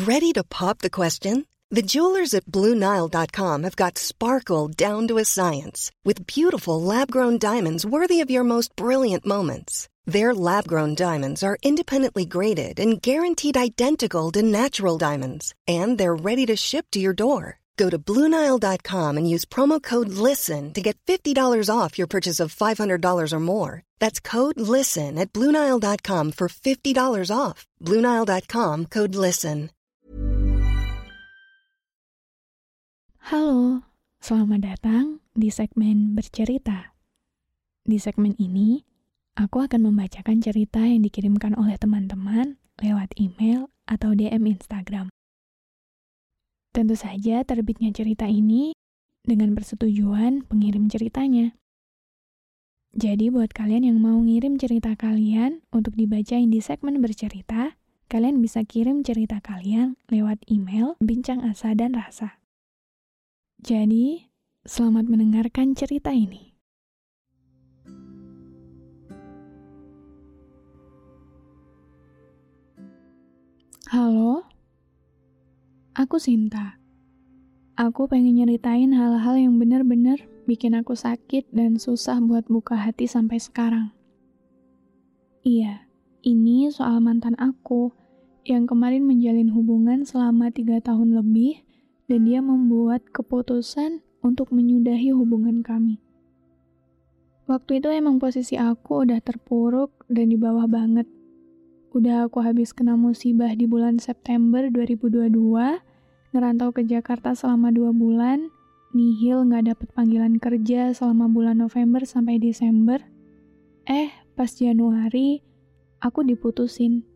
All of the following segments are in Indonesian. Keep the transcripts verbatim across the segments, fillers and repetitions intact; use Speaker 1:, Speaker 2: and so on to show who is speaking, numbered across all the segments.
Speaker 1: Ready to pop the question? The jewelers at Blue Nile dot com have got sparkle down to a science with beautiful lab-grown diamonds worthy of your most brilliant moments. Their lab-grown diamonds are independently graded and guaranteed identical to natural diamonds, and they're ready to ship to your door. Go to Blue Nile dot com and use promo code LISTEN to get fifty dollars off your purchase of five hundred dollars or more. That's code LISTEN at Blue Nile dot com for fifty dollars off. Blue Nile dot com, code LISTEN.
Speaker 2: Halo, selamat datang di segmen Bercerita. Di segmen ini, aku akan membacakan cerita yang dikirimkan oleh teman-teman lewat email atau D M Instagram. Tentu saja terbitnya cerita ini dengan persetujuan pengirim ceritanya. Jadi buat kalian yang mau ngirim cerita kalian untuk dibacain di segmen Bercerita, kalian bisa kirim cerita kalian lewat email Bincang Asa dan Rasa. Jadi, selamat mendengarkan cerita ini. Halo, aku Sinta. Aku pengen nyeritain hal-hal yang bener-bener bikin aku sakit dan susah buat buka hati sampai sekarang. Iya, ini soal mantan aku yang kemarin menjalin hubungan selama tiga tahun lebih dan dia membuat keputusan untuk menyudahi hubungan kami. Waktu itu emang posisi aku udah terpuruk dan di bawah banget. Udah aku habis kena musibah di bulan September dua ribu dua puluh dua, ngerantau ke Jakarta selama dua bulan, nihil gak dapet panggilan kerja selama bulan November sampai Desember. Eh, pas Januari, aku diputusin.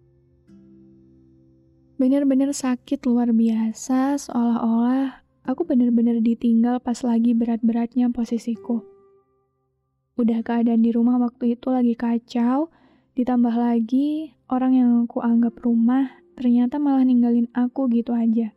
Speaker 2: Bener-bener sakit luar biasa, seolah-olah aku bener-bener ditinggal pas lagi berat-beratnya posisiku. Udah keadaan di rumah waktu itu lagi kacau, ditambah lagi, orang yang aku anggap rumah ternyata malah ninggalin aku gitu aja.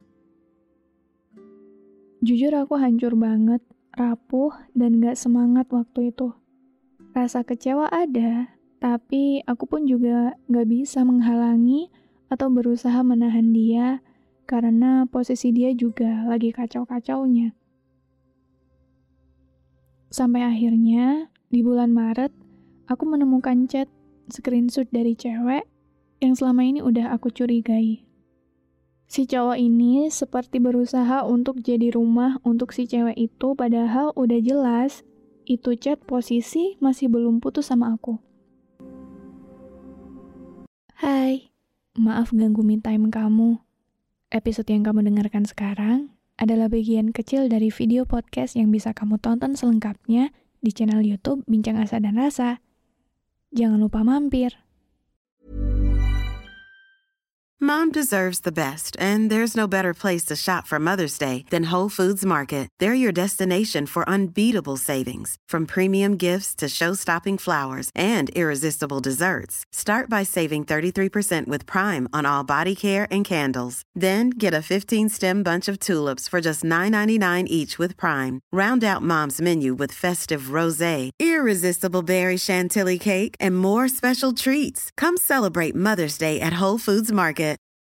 Speaker 2: Jujur aku hancur banget, rapuh, dan gak semangat waktu itu. Rasa kecewa ada, tapi aku pun juga gak bisa menghalangi atau berusaha menahan dia karena posisi dia juga lagi kacau-kacaunya. Sampai akhirnya, di bulan Maret, aku menemukan chat screenshot dari cewek yang selama ini udah aku curigai. Si cowok ini seperti berusaha untuk jadi rumah untuk si cewek itu, padahal udah jelas itu chat posisi masih belum putus sama aku. Hai, maaf ganggu me time kamu. Episode yang kamu dengarkan sekarang adalah bagian kecil dari video podcast yang bisa kamu tonton selengkapnya di channel YouTube Bincang Asa dan Rasa. Jangan lupa mampir.
Speaker 3: Mom deserves the best, and there's no better place to shop for Mother's Day than Whole Foods Market. They're your destination for unbeatable savings, from premium gifts to show-stopping flowers and irresistible desserts. Start by saving thirty-three percent with Prime on all body care and candles. Then get a fifteen-stem bunch of tulips for just nine ninety-nine each with Prime. Round out Mom's menu with festive rosé, irresistible berry chantilly cake, and more special treats. Come celebrate Mother's Day at Whole Foods Market.